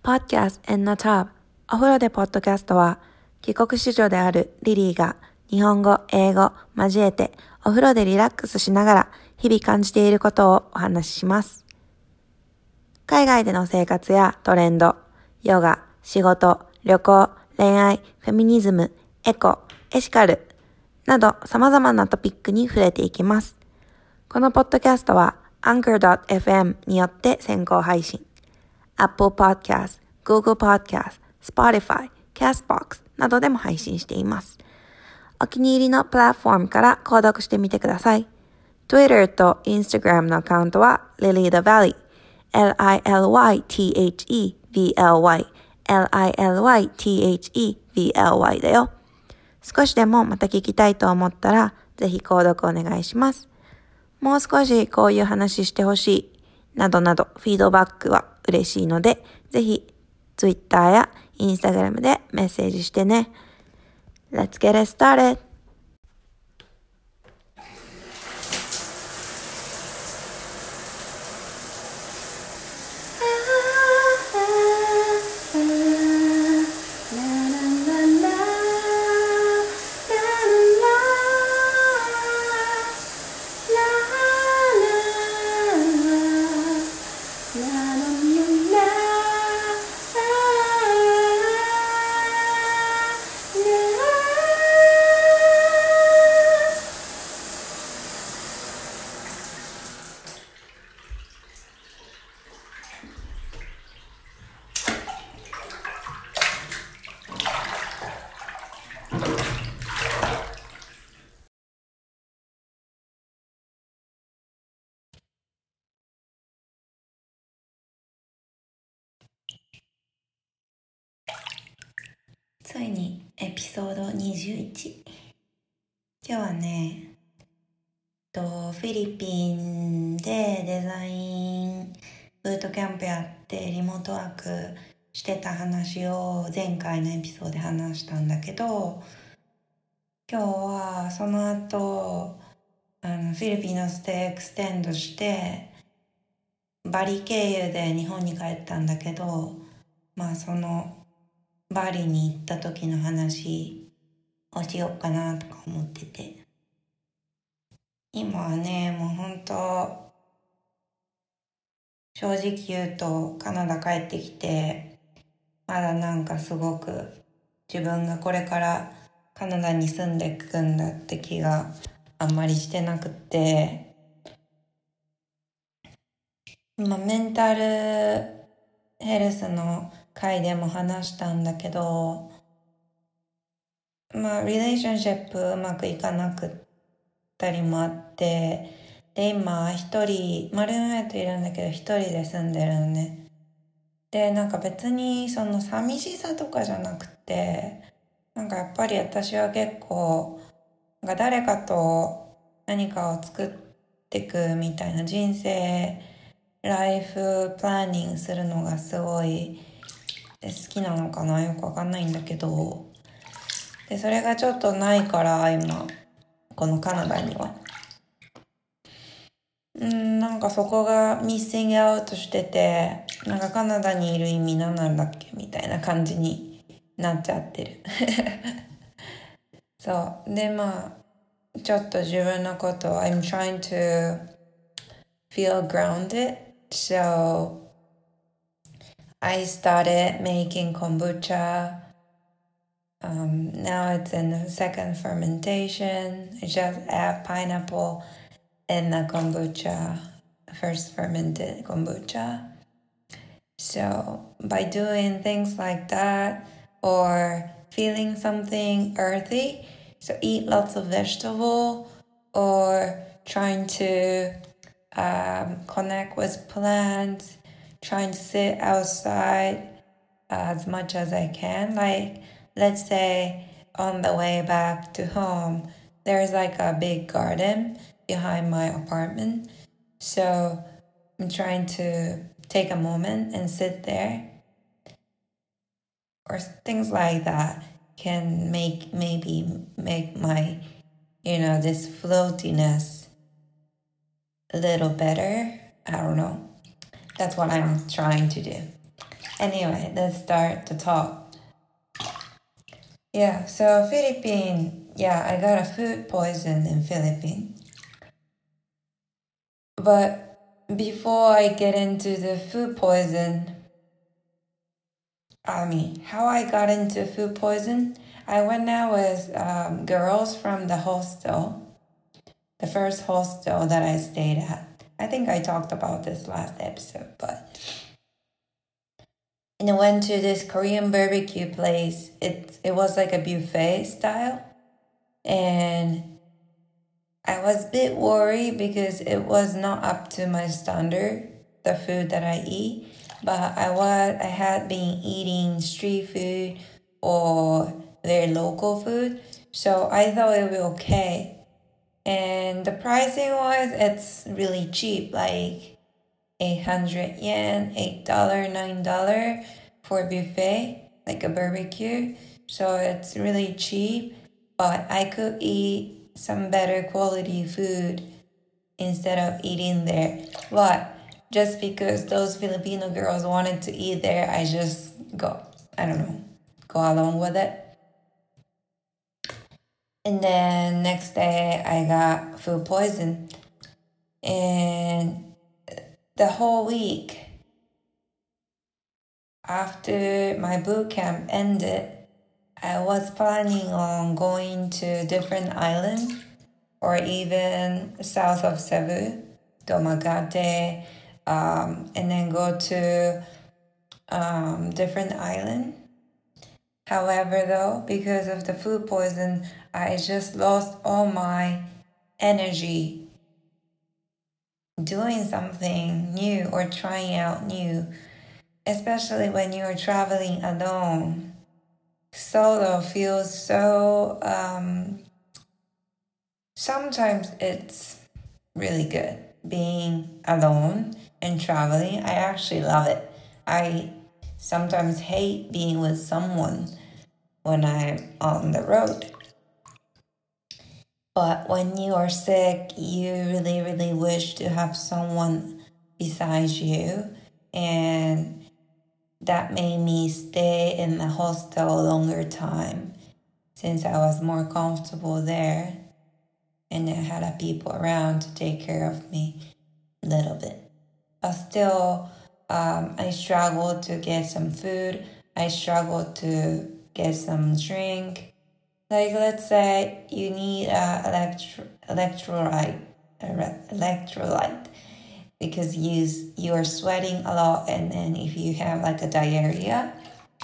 Podcast in the Tub お風呂でポッドキャストは帰国子女であるリリーが日本語、英語交えてお風呂でリラックスしながら日々感じていることをお話しします。海外での生活やトレンド、ヨガ、仕事、旅行、恋愛、フェミニズム、エコ、エシカルなど様々なトピックに触れていきます。このポッドキャストは Anchor.fm によって先行配信。Apple Podcast、Google Podcast、Spotify、Castbox などでも配信しています。お気に入りのプラットフォームから購読してみてください。Twitter と Instagram のアカウントは LilyTheValley、LilyTheVally だよ。少しでもまた聞きたいと思ったら、ぜひ購読お願いします。もう少しこういう話してほしい、などなどフィードバックは嬉しいので、ぜひ Twitter や Instagram でメッセージしてね。Let's get it started! ついにエピソード21。今日はね、フィリピンでデザインブートキャンプやってリモートワークしてた話を前回のエピソードで話したんだけど、今日はその後フィリピンのステイエクステンドしてバリ経由で日本に帰ったんだけど、そのバリに行った時の話をしようかなとか思ってて、今はね、もう本当正直言うとカナダ帰ってきて、まだなんかすごく自分がこれからカナダに住んでいくんだって気があんまりしてなくて、メンタルヘルスの回でも話したんだけど、リレーションシップうまくいかなくったりもあって、で今一人ルームメイトいるんだけど一人で住んでるのね。でなんか別にその寂しさとかじゃなくて、なんかやっぱり私は結構なんか誰かと何かを作っていくみたいな人生ライフプランニングするのがすごい好きなのかな、よくわかんないんだけど、でそれがちょっとないから今このカナダにはなんかそこがミッシングアウトしてて、なんかカナダにいる意味何なんだっけみたいな感じになっちゃってるそうでちょっと自分のことを I'm trying to feel grounded, so I started making kombucha. Now it's in the second fermentation. I just add pineapple in the kombucha, first fermented kombucha. So by doing things like that or feeling something earthy, so eat lots of vegetable or trying to connect with plants, trying to sit outside as much as I can. Like, let's say on the way back to home, there's like a big garden behind my apartment. So I'm trying to take a moment and sit there. Or things like that can make my, this floatiness a little better. I don't know. That's what I'm trying to do. Anyway, let's start the talk. Yeah, so Philippines, yeah, I got a food poison in Philippines. But before I get into the food poison, how I got into food poison, I went out with girls from the hostel, the first hostel that I stayed at. I think I talked about this last episode, and I went to this Korean barbecue place. It was like a buffet style, and I was a bit worried because it was not up to my standard, the food that I eat. But I had been eating street food or their local food, so I thought it would be okay. And the pricing wise, it's really cheap, like 800 yen, $8, $9 for a buffet, like a barbecue. So it's really cheap, but I could eat some better quality food instead of eating there. But just because those Filipino girls wanted to eat there, I just go along with it. And then next day I got food poison. And the whole week after my boot camp ended, I was planning on going to different islands or even south of Cebu, Domagate, and then go to different island. However, though, because of the food poison, I just lost all my energy doing something new or trying out new, especially when you're traveling alone. Solo feels so, sometimes it's really good being alone and traveling. I actually love it. I sometimes hate being with someone when I'm on the road. But when you are sick, you really, really wish to have someone besides you. And that made me stay in the hostel a longer time since I was more comfortable there. And I had people around to take care of me a little bit. But still, I struggled to get some food. I struggled to get some drink. Like, let's say you need electrolyte because you are sweating a lot, and then if you have like a diarrhea,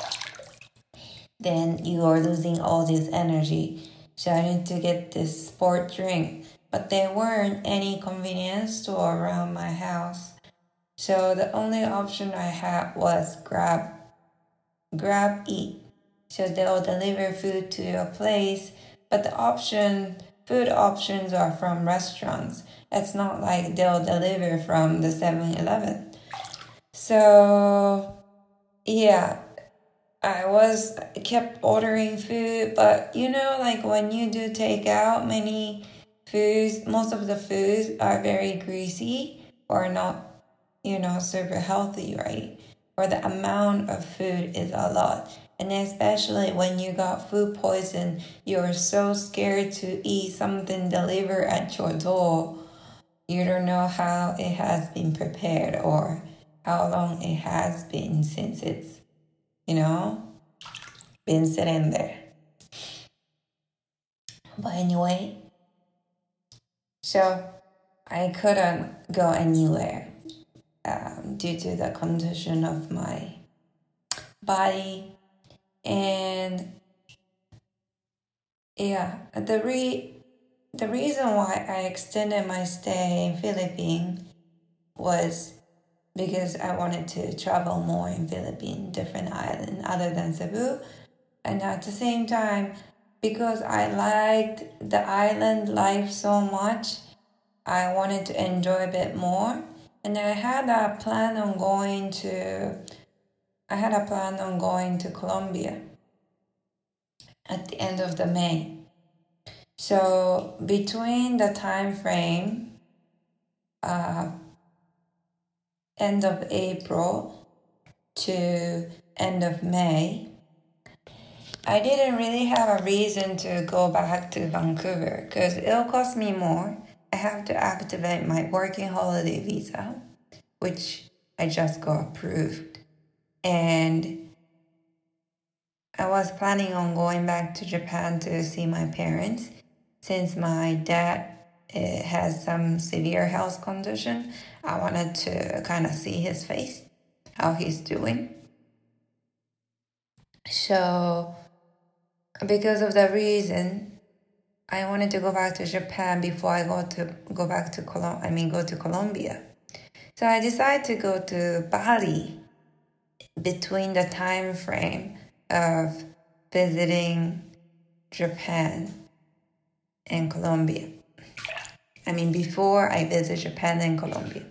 then you are losing all this energy. So I need to get this sport drink, but there weren't any convenience store around my house. So the only option I had was Grab Eat. So they'll deliver food to your place, but food options are from restaurants. It's not like they'll deliver from the 7-Eleven. So yeah, kept ordering food, but like when you do takeout, most of the foods are very greasy or not, super healthy, right? Or the amount of food is a lot. And especially when you got food poison, you're so scared to eat something delivered at your door. You don't know how it has been prepared or how long it has been since it's, been sitting there. But anyway, so I couldn't go anywhere due to the condition of my body. And yeah, the reason why I extended my stay in Philippines was because I wanted to travel more in Philippines, different islands other than Cebu. And at the same time, because I liked the island life so much, I wanted to enjoy a bit more. And I had a plan on going to Colombia at the end of the May. So between the time frame, end of April to to end of May, I didn't really have a reason to go back to Vancouver because it'll cost me more. I have to activate my working holiday visa, which I just got approved. And I was planning on going back to Japan to see my parents since my dad has some severe health condition. I wanted to kind of see his face, how he's doing. So because of that reason, I wanted to go back to Japan before I go to Colombia. So I decided to go to Bali between the time frame of visiting Japan and Colombia. Before I visit Japan and Colombia.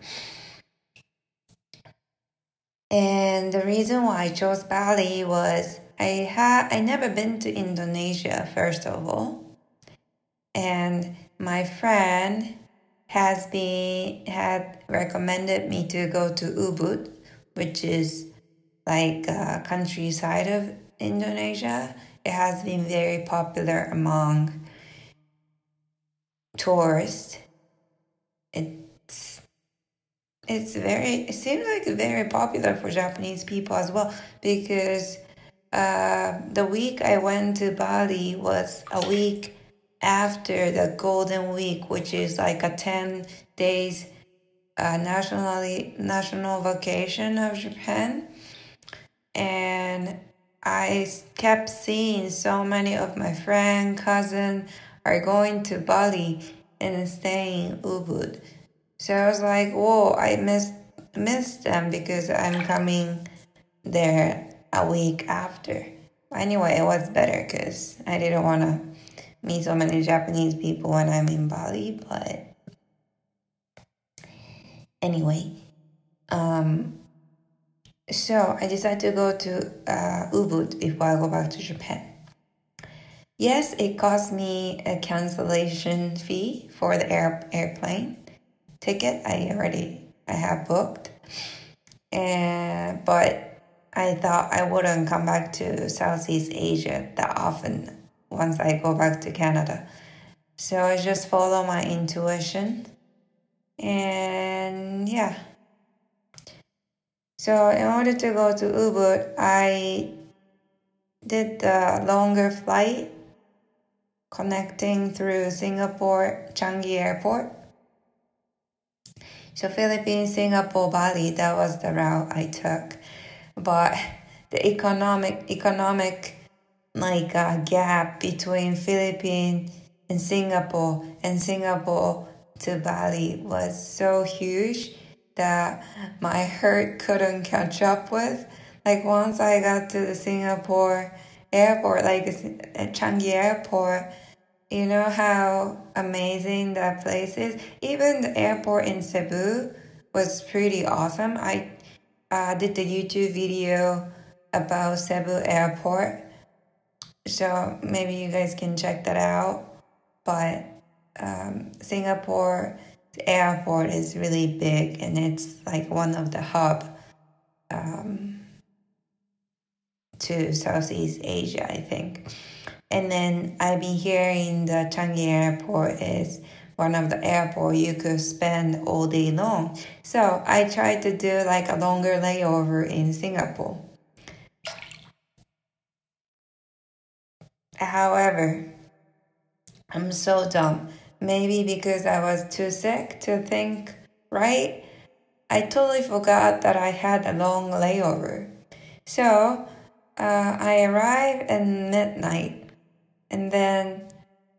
And the reason why I chose Bali was I never been to Indonesia, first of all. And my friend had recommended me to go to Ubud, which is like countryside of Indonesia. It has been very popular among tourists. It seems like very popular for Japanese people as well, because the week I went to Bali was a week after the Golden Week, which is like a 10 days national vacation of Japan. And I kept seeing so many of my friends, cousins are going to Bali and staying in Ubud. So I was like, whoa, I missed them because I'm coming there a week after. Anyway, it was better because I didn't want to meet so many Japanese people when I'm in Bali. But anyway, so I decided to go to Ubud before I go back to Japan. Yes, it cost me a cancellation fee for the airplane ticket. I have booked, but I thought I wouldn't come back to Southeast Asia that often once I go back to Canada. So I just follow my intuition, and yeah. So in order to go to Ubud, I did the longer flight connecting through Singapore Changi Airport. So Philippines, Singapore, Bali, that was the route I took. But the economic gap between Philippines and Singapore to Bali was so huge that my heart couldn't catch up with. Like once I got to the Singapore airport, like Changi Airport, you know how amazing that place is? Even the airport in Cebu was pretty awesome. I did the YouTube video about Cebu Airport. So maybe you guys can check that out. But Singapore airport is really big and it's like one of the hub to Southeast Asia, I think. And then I've been hearing the Changi Airport is one of the airports you could spend all day long. So I tried to do like a longer layover in Singapore. However, I'm so dumb. Maybe because I was too sick to think right. I totally forgot that I had a long layover. So I arrived at midnight. And then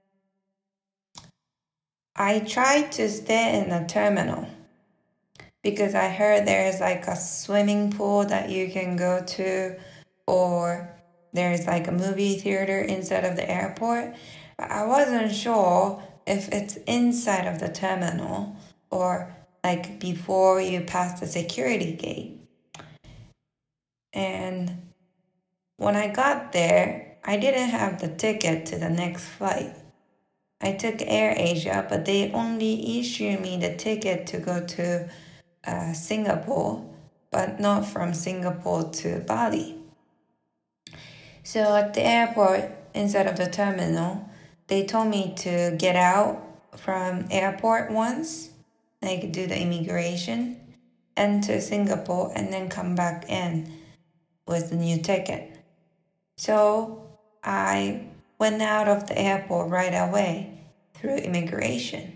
I tried to stay in the terminal because I heard there's like a swimming pool that you can go to, or there's like a movie theater inside of the airport. But I wasn't sure if it's inside of the terminal or like before you pass the security gate. And when I got there, I didn't have the ticket to the next flight. I took AirAsia, but they only issued me the ticket to go to Singapore. but not from Singapore to Bali. So at the airport, instead of the terminal, they told me to get out from airport once, like do the immigration, enter Singapore, and then come back in with the new ticket. So I went out of the airport right away through immigration.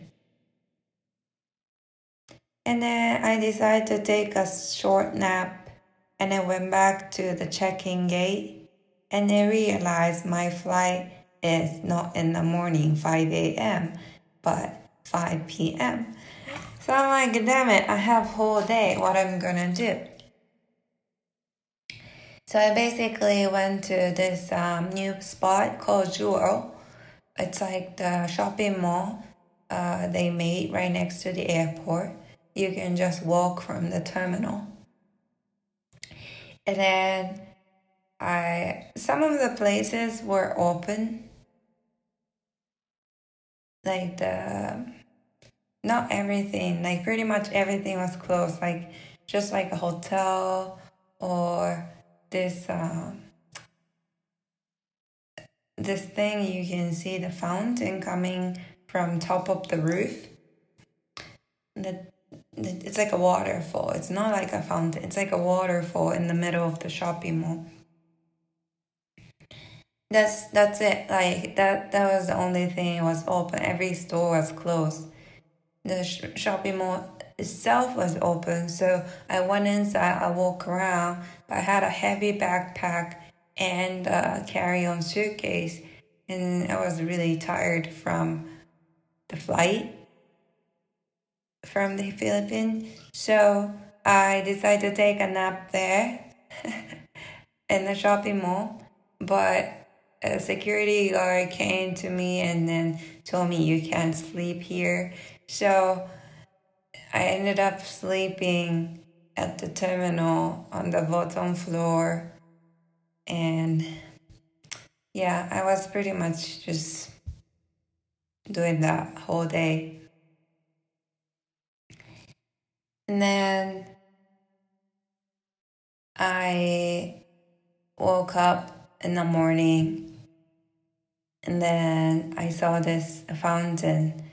And then I decided to take a short nap, and I went back to the check-in gate, and I realized my flight is not in the morning, 5 a.m., but 5 p.m. So I'm like, damn it, I have whole day, what I'm gonna do? So I basically went to this new spot called Jewel. It's like the shopping mall they made right next to the airport. You can just walk from the terminal. And then some of the places were open. Like not everything, like pretty much everything was closed. Like just like a hotel or this this thing you can see the fountain coming from top of the roof. It's like a waterfall. It's not like a fountain. It's like a waterfall in the middle of the shopping mall. That's it. Like that was the only thing was open. Every store was closed. The shopping mall itself was open, so I went inside. I walked around, but I had a heavy backpack and a carry-on suitcase, and I was really tired from the flight from the Philippines. So I decided to take a nap there in the shopping mall, but a security guard came to me and then told me you can't sleep here. So I ended up sleeping at the terminal on the bottom floor. And yeah, I was pretty much just doing that whole day. And then I woke up in the morning, and then I saw this fountain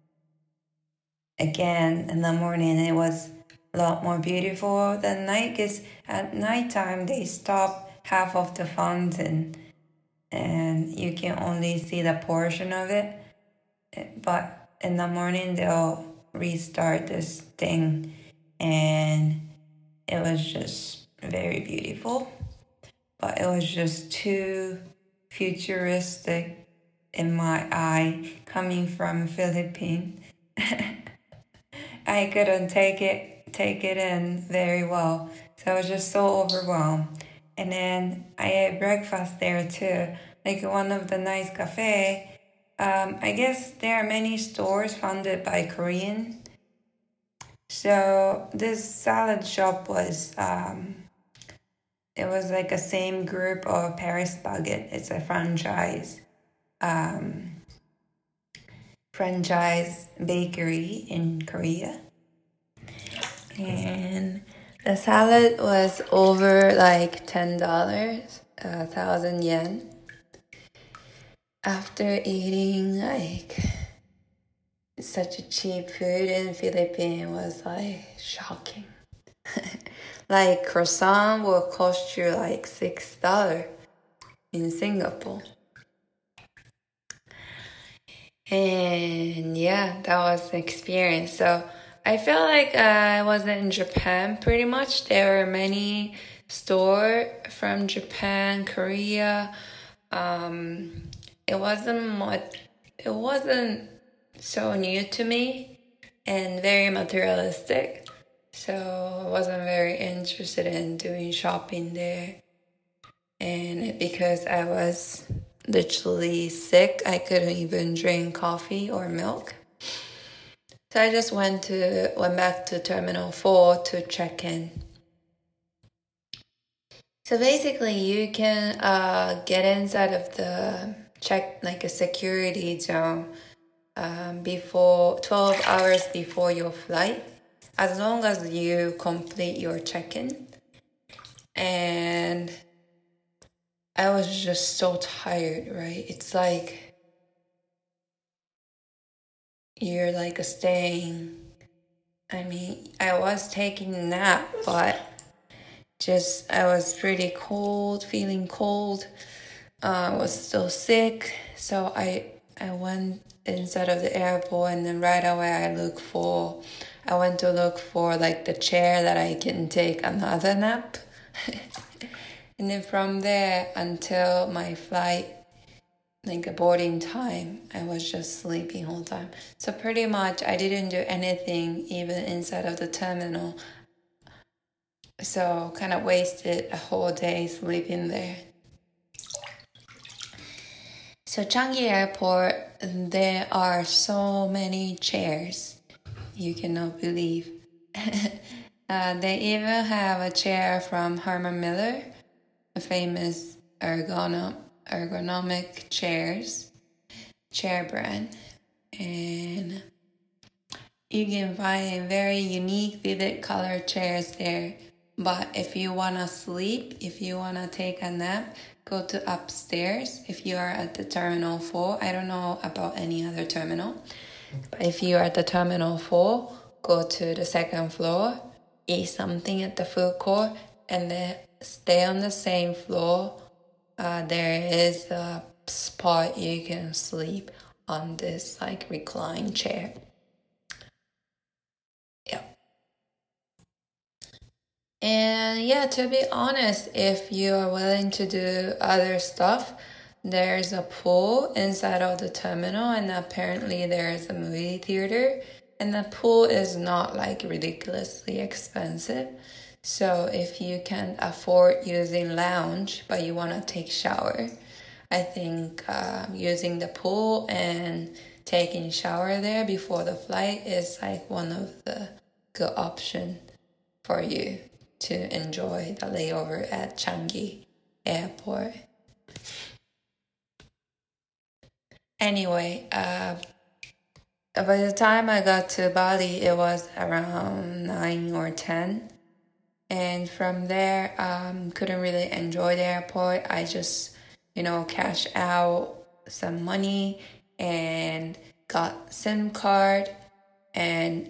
again in the morning. It was a lot more beautiful than night, because at nighttime they stop half of the fountain and you can only see the portion of it. But in the morning they'll restart this thing, and it was just very beautiful. But it was just too futuristic in my eye coming from Philippines. I couldn't take it in very well. So I was just so overwhelmed. And then I ate breakfast there too, like one of the nice cafe. I guess there are many stores founded by Korean. So this salad shop was it was like a same group of Paris Baguette. It's a franchise bakery in Korea. And the salad was over like $10, 1,000 yen. After eating like such a cheap food in Philippines was like shocking. Like croissant will cost you like $6 in Singapore. And yeah, that was the experience. So I felt like I was in Japan pretty much. There were many stores from Japan, Korea. It wasn't so new to me and very materialistic. So I wasn't very interested in doing shopping there. And because I was literally sick, I couldn't even drink coffee or milk. So I just went back to Terminal 4 to check in. So basically, you can get inside of the like a security zone before 12 hours before your flight. as long as you complete your check-in. And I was just so tired, right? It's like you're like staying. I mean, I was taking a nap, but just I was pretty cold, feeling cold. I was still sick, so I went inside of the airport, and then right away I went to look for like the chair that I can take another nap. And then from there until my flight, like a boarding time, I was just sleeping all the time. So pretty much I didn't do anything even inside of the terminal. So kind of wasted a whole day sleeping there. So Changi Airport, there are so many chairs. You cannot believe. They even have a chair from Herman Miller, a famous ergonomic chair brand. And you can find very unique, vivid color chairs there. But if you want to sleep, if you want to take a nap, go to upstairs. If you are at the Terminal 4, I don't know about any other terminal. But if you are at the Terminal 4, go to the second floor, eat something at the food court, and then stay on the same floor. There is a spot you can sleep on this like recline chair. Yeah. And yeah, to be honest, if you are willing to do other stuff, there's a pool inside of the terminal, and apparently there's a movie theater, and the pool is not like ridiculously expensive. So if you can afford using lounge, but you want to take shower, I think using the pool and taking shower there before the flight is like one of the good options for you to enjoy the layover at Changi Airport. Anyway, by the time I got to Bali, it was around 9 or 10. And from there, couldn't really enjoy the airport. I just, cashed out some money and got SIM card and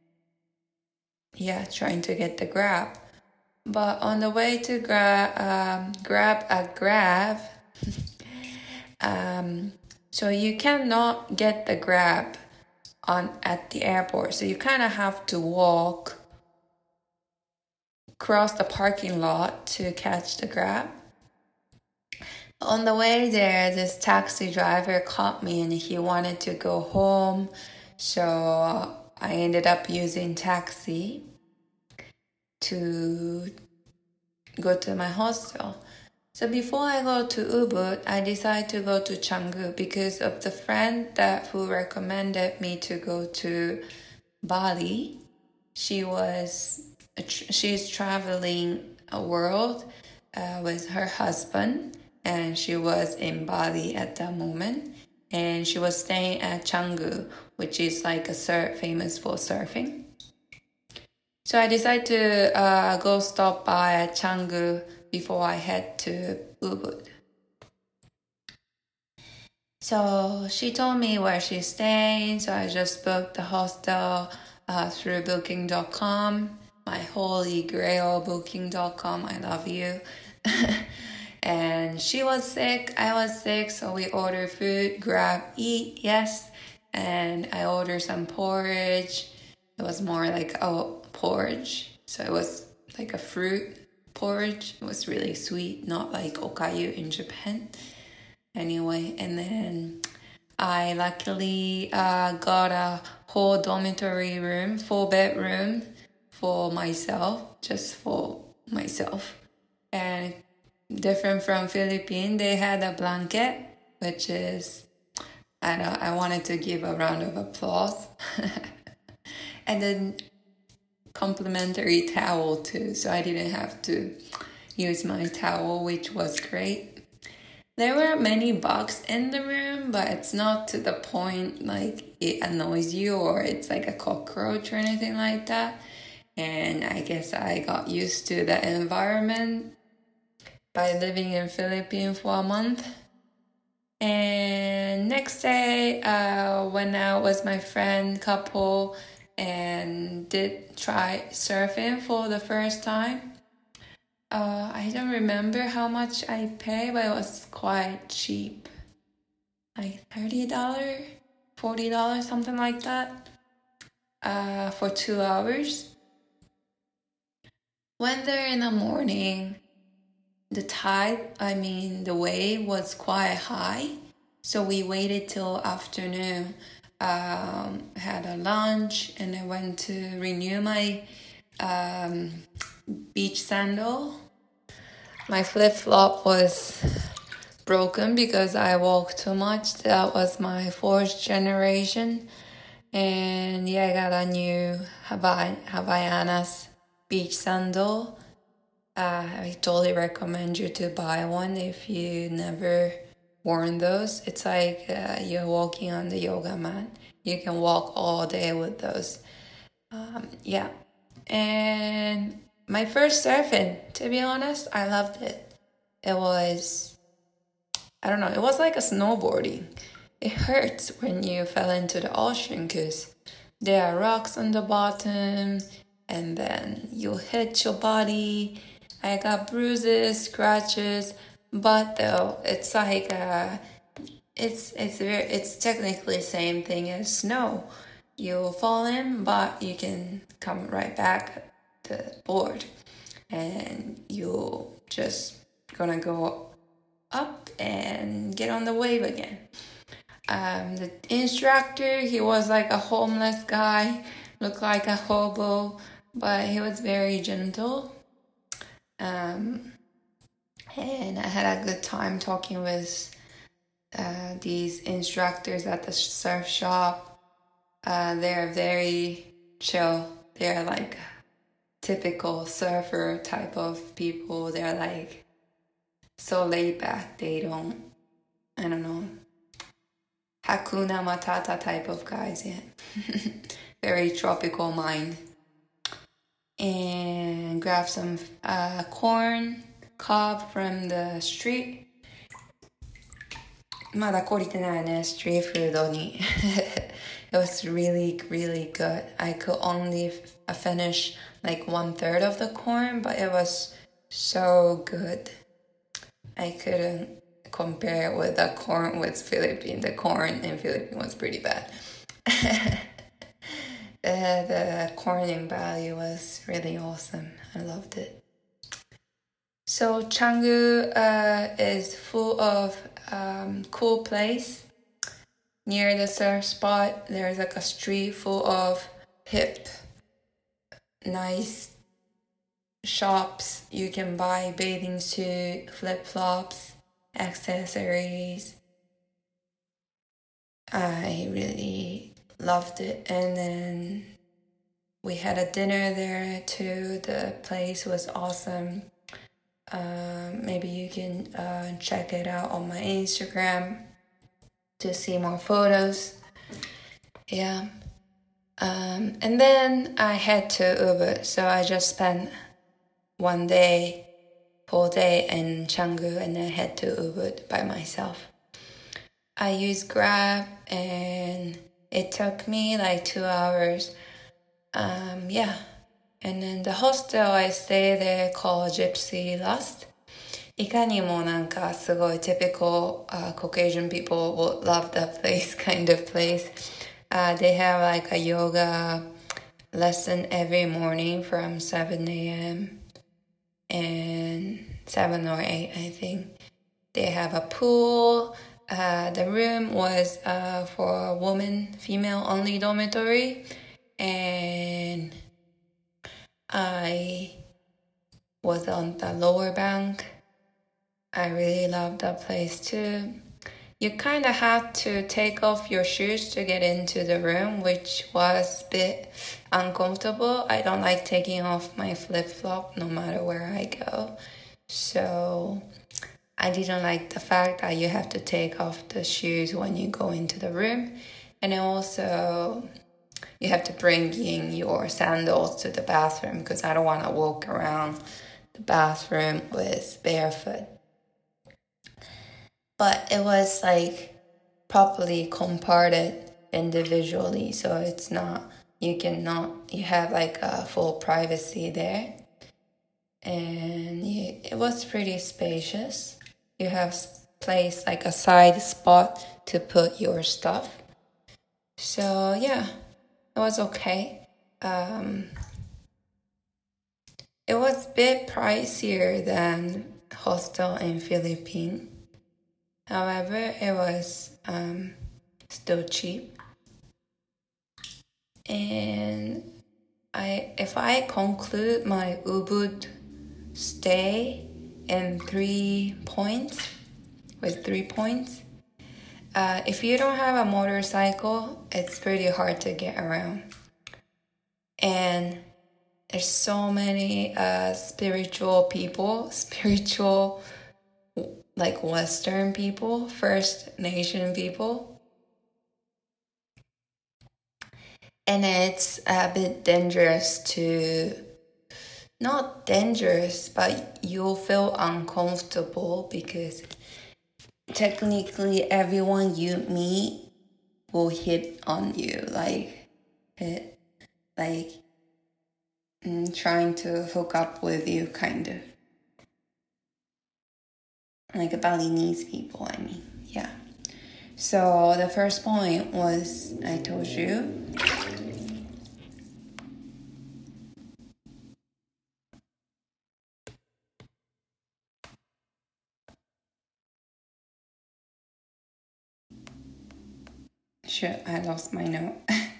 trying to get the Grab. But on the way to grab a Grab, so you cannot get the Grab at the airport. So you kind of have to walk across the parking lot to catch the Grab. On the way there, this taxi driver caught me and he wanted to go home. So I ended up using taxi to go to my hostel. So before I go to Ubud, I decided to go to Canggu because of the friend who recommended me to go to Bali. She's traveling a world with her husband, and she was in Bali at that moment, and she was staying at Canggu, which is like famous for surfing. So I decided to go stop by at Canggu before I head to Ubud. So she told me where she's staying, so I just booked the hostel through booking.com, my holy grail booking.com, I love you. And she was sick, I was sick, so we ordered food, grab, eat, yes. And I ordered some porridge. It was more like porridge, so it was like a fruit porridge. It was really sweet, not like okayu in Japan. Anyway, and then I luckily got a whole dormitory room, 4-bedroom for myself, just for myself. And different from Philippines, they had a blanket, which is, I wanted to give a round of applause. And then complimentary towel too, so I didn't have to use my towel, which was great. There were many bugs in the room, but it's not to the point like it annoys you or it's like a cockroach or anything like that. And I guess I got used to the environment by living in Philippines for a month. And next day, went out with my friend couple and did try surfing for the first time. I don't remember how much I paid, but it was quite cheap. Like $30, $40, something like that. For 2 hours. Went there in the morning. The wave was quite high. So we waited till afternoon. Had a lunch and I went to renew my beach sandal. My flip-flop was broken because I walked too much. That was my fourth generation. And yeah, I got a new Havaianas beach sandal. I totally recommend you to buy one if you never worn those. It's like you're walking on the yoga mat. You can walk all day with those. Yeah. And my first surfing, to be honest, I loved it. It was, I don't know, it was like a snowboarding. It hurts when you fell into the ocean because there are rocks on the bottom and then you hit your body. I got bruises, scratches, but though it's like it's technically the same thing as snow. You fall in, but you can come right back to the board, and you just gonna go up and get on the wave again. The instructor, he was like a homeless guy, looked like a hobo, but he was very gentle. And I had a good time talking with these instructors at the surf shop. They're very chill. They're like typical surfer type of people. They're like so laid back. They don't, I don't know, Hakuna Matata type of guys, yeah. Very tropical mind. And grab some corn cob from the street. まだ懲りてないね、ストリートフードに。It was really, really good. I could only finish like 1/3 of the corn, but it was so good. I couldn't compare with the corn with Philippines. The corn in Philippines was pretty bad. The corn in Bali was really awesome. I loved it. So Canggu is full of cool place. Near the surf spot, there's like a street full of hip, nice shops. You can buy bathing suit, flip-flops, accessories. I really loved it. And then we had a dinner there too. The place was awesome. Maybe you can check it out on my Instagram to see more photos. Yeah. And then I had to Uber, so I just spent one day, whole day in Canggu, and I had to Uber by myself. I used Grab, and it took me like 2 hours. Yeah. And then the hostel I stayed there called Gypsy Lust. いかにもなんかすごい typical Caucasian people will love that place kind of place. They have like a yoga lesson every morning from 7 a.m. and 7 or 8, I think. They have a pool. The room was for a woman, female only dormitory. And I was on the lower bank. I really loved that place too. You kind of had to take off your shoes to get into the room, which was a bit uncomfortable. I don't like taking off my flip-flop no matter where I go. So I didn't like the fact that you have to take off the shoes when you go into the room. And also, you have to bring in your sandals to the bathroom because I don't want to walk around the bathroom with barefoot. But it was like properly comparted individually, so it's not, you have like a full privacy there. And it was pretty spacious. You have place like a side spot to put your stuff. So yeah, it was okay. It was a bit pricier than hostel in Philippines. However, it was still cheap. And if I conclude my Ubud stay in 3 points, with 3 points, if you don't have a motorcycle, it's pretty hard to get around. And there's so many spiritual like Western people, First Nation people. And it's a bit dangerous not dangerous, but you'll feel uncomfortable because technically everyone you meet will hit on you, trying to hook up with you, kind of. Like Balinese people, I mean, yeah. So the first point was, I told you, shit, I lost my note.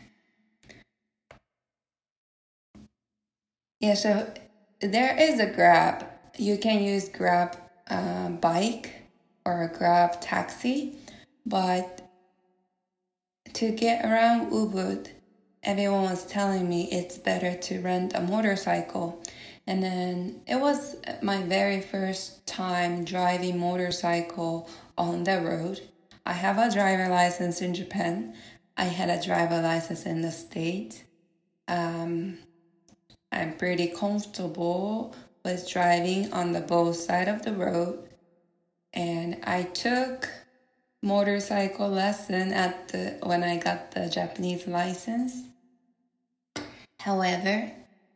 Yeah, so there is a Grab. You can use Grab bike or a Grab taxi, but to get around Ubud, everyone was telling me it's better to rent a motorcycle. And then it was my very first time driving motorcycle on the road. I have a driver license in Japan. I had a driver license in the States. I'm pretty comfortable with driving on the both side of the road. And I took motorcycle lesson when I got the Japanese license. However,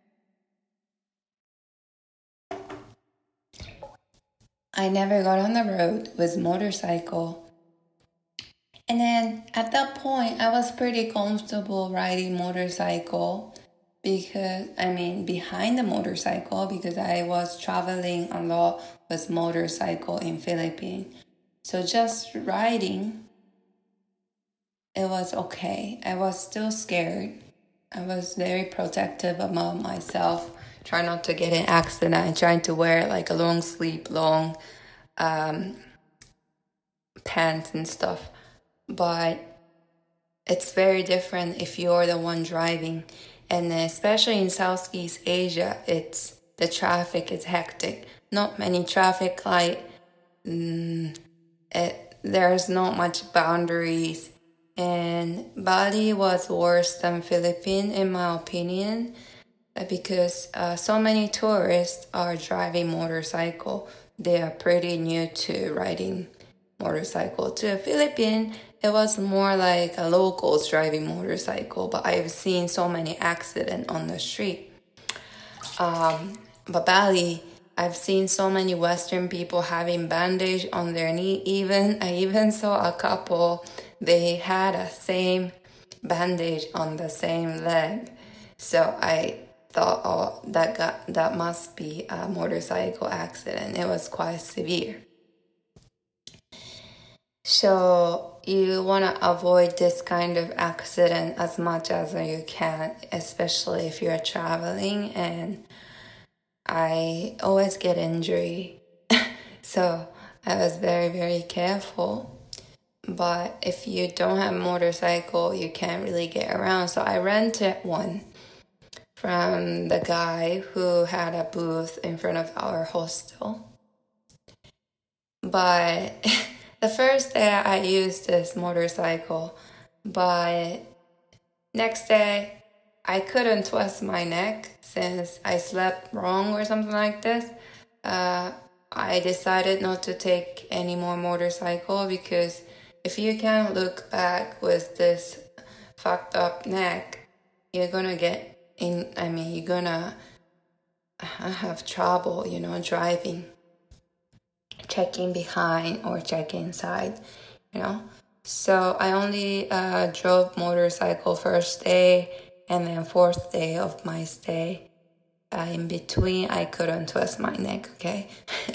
I never got on the road with motorcycle. And then at that point, I was pretty comfortable riding motorcycle behind the motorcycle, because I was traveling a lot with motorcycle in Philippines. So just riding, it was okay. I was still scared. I was very protective about myself, trying not to get in accident, and trying to wear like a long sleeve, long pants and stuff. But it's very different if you're the one driving. And especially in Southeast Asia, the traffic is hectic. Not many traffic light. There's not much boundaries. And Bali was worse than Philippines, in my opinion, because so many tourists are driving motorcycle. They are pretty new to riding motorcycle. To Philippines, it was more like a locals driving motorcycle, but I've seen so many accidents on the street. But Bali, I've seen so many Western people having bandage on their knee. I even saw a couple, they had a same bandage on the same leg. So I thought, oh, that must be a motorcycle accident. It was quite severe. So you want to avoid this kind of accident as much as you can, especially if you're traveling. And I always get injury. So I was very, very careful. But if you don't have a motorcycle, you can't really get around. So I rented one from the guy who had a booth in front of our hostel. But the first day I used this motorcycle, But next day, I couldn't twist my neck since I slept wrong or something like this. I decided not to take any more motorcycle because if you can't look back with this fucked up neck, you're gonna you're gonna have trouble, driving, checking behind or checking side, So I only drove motorcycle first day and then fourth day of my stay. In between, I couldn't twist my neck, okay?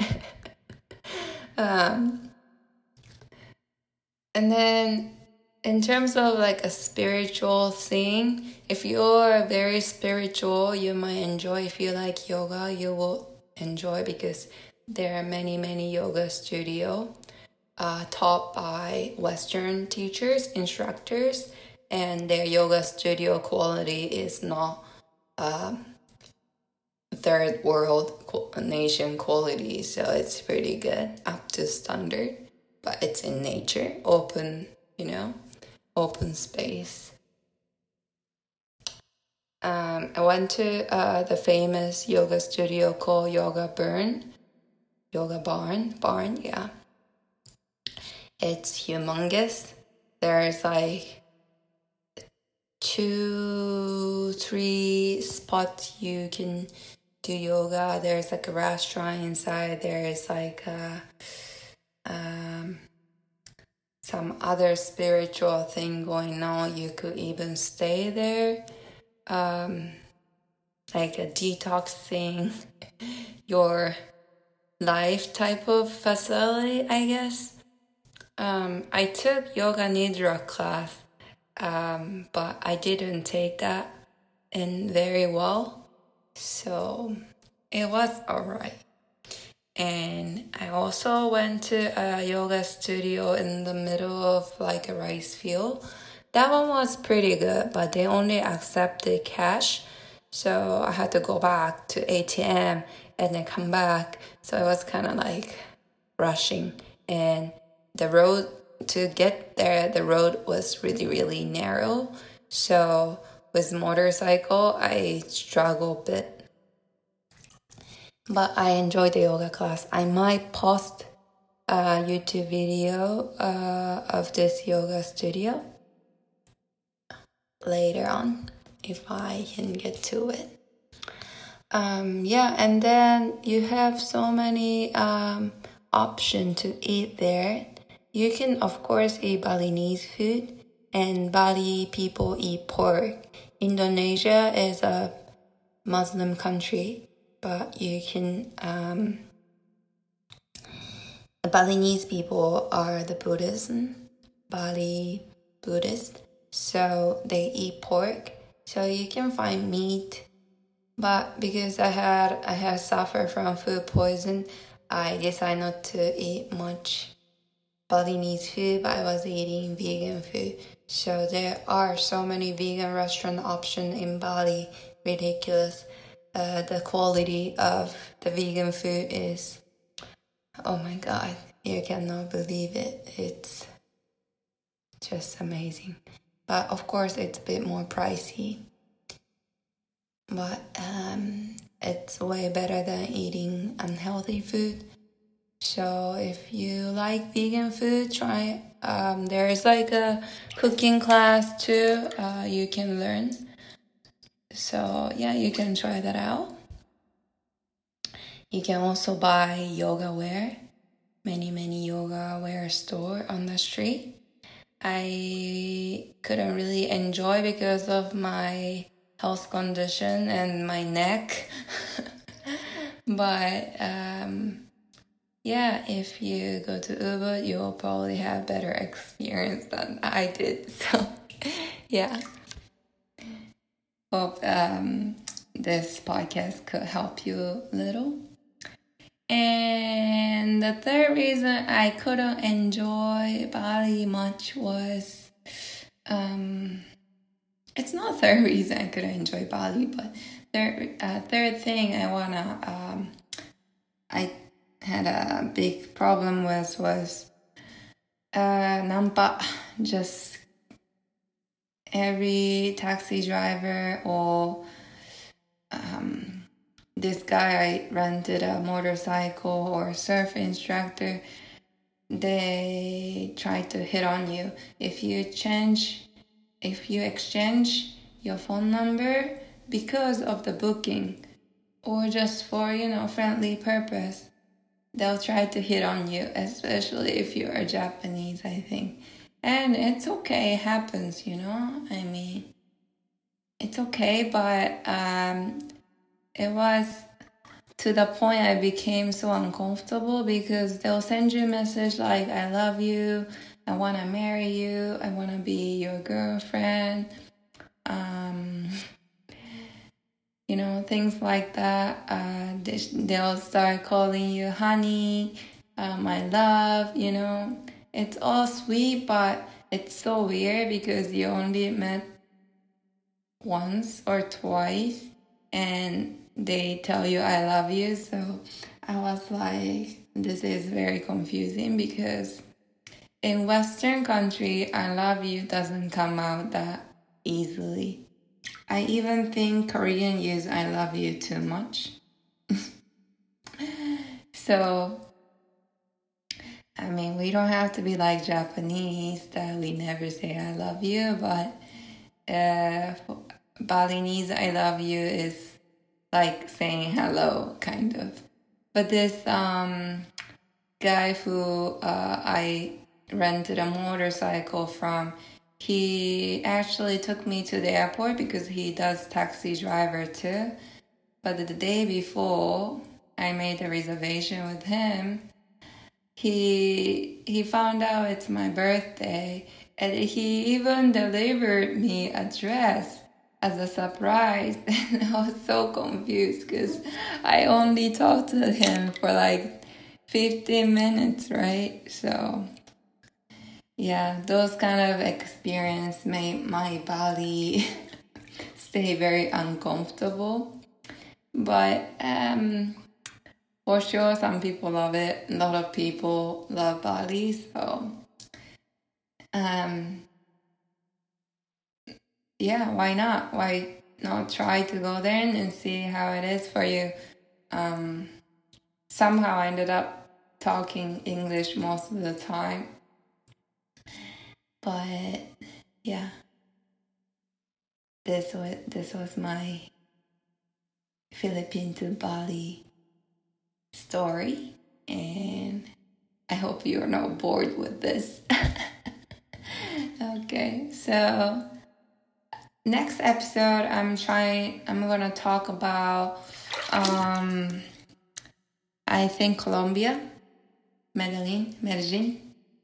And then in terms of like a spiritual thing, if you're very spiritual, you might enjoy. If you like yoga, you will enjoy because there are many yoga studio taught by Western teachers, instructors, and their yoga studio quality is not third world nation quality, so it's pretty good, up to standard, but it's in nature, open space. I went to the famous yoga studio called Yoga Barn, yeah. It's humongous. There's like 2-3 spots you can do yoga. There's like a restaurant inside. There's like some other spiritual thing going on. You could even stay there, like a detoxing your life type of facility, I guess. I took yoga nidra class, but I didn't take that in very well, so it was alright. And I also went to a yoga studio in the middle of like a rice field. That one was pretty good, but they only accepted cash. So I had to go back to ATM and then come back. So I was kind of like rushing. And the road to get there, the road was really narrow. So with motorcycle, I struggled a bit. But I enjoyed the yoga class. I might post a YouTube video of this yoga studio later on if I can get to it. And then you have so many options to eat there. You can, of course, eat Balinese food, and Bali people eat pork. Indonesia is a Muslim country, but you can, the Balinese people are the Bali Buddhist, so they eat pork, so you can find meat, but because I had suffered from food poison, I decided not to eat much Balinese food, but I was eating vegan food. So there are so many vegan restaurant options in Bali, ridiculous. The quality of the vegan food is, oh my god, you cannot believe it. It's just amazing. But of course, it's a bit more pricey. But it's way better than eating unhealthy food. So if you like vegan food, try. There is like a cooking class too. You can learn. So yeah, you can try that out. You can also buy yoga wear. Many yoga wear store on the street. I couldn't really enjoy because of my health condition and my neck. But if you go to Ubud, you'll probably have better experience than I did. So yeah, hope this podcast could help you a little. And the third reason I couldn't enjoy Bali much was, it's not third reason I couldn't enjoy Bali, but third thing I had a big problem with was Nampak. Just every taxi driver or this guy I rented a motorcycle or surf instructor, they try to hit on you. If you exchange your phone number because of the booking or just for, friendly purpose, they'll try to hit on you, especially if you are Japanese, I think. And it's okay, it happens, I mean, it's okay, but it was to the point I became so uncomfortable because they'll send you a message like, I love you, I want to marry you, I want to be your girlfriend, things like that. They'll start calling you honey, my love, It's all sweet, but it's so weird because you only met once or twice and they tell you I love you. So I was like, this is very confusing because in Western country, I love you doesn't come out that easily. I even think Korean use I love you too much. So, I mean, we don't have to be like Japanese that we never say I love you, but Balinese I love you is like saying hello, kind of. But this guy who I rented a motorcycle from, he actually took me to the airport because he does taxi driver too. But the day before I made a reservation with him, he found out it's my birthday and he even delivered me a dress as a surprise. And I was so confused because I only talked to him for like 15 minutes, right? So yeah, those kind of experience made my body stay very uncomfortable. But for sure, some people love it. A lot of people love Bali, so yeah, why not? Why not try to go there and see how it is for you? Somehow I ended up talking English most of the time. But yeah, this was my Philippine to Bali story, and I hope you're not bored with this. Okay, so next episode I'm gonna talk about I think Colombia, Medellin.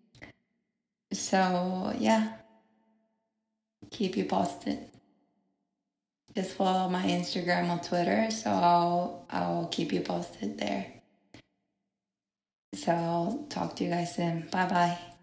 So yeah, keep you posted. Just follow my Instagram or Twitter, so I'll keep you posted there. So I'll talk to you guys soon. Bye bye.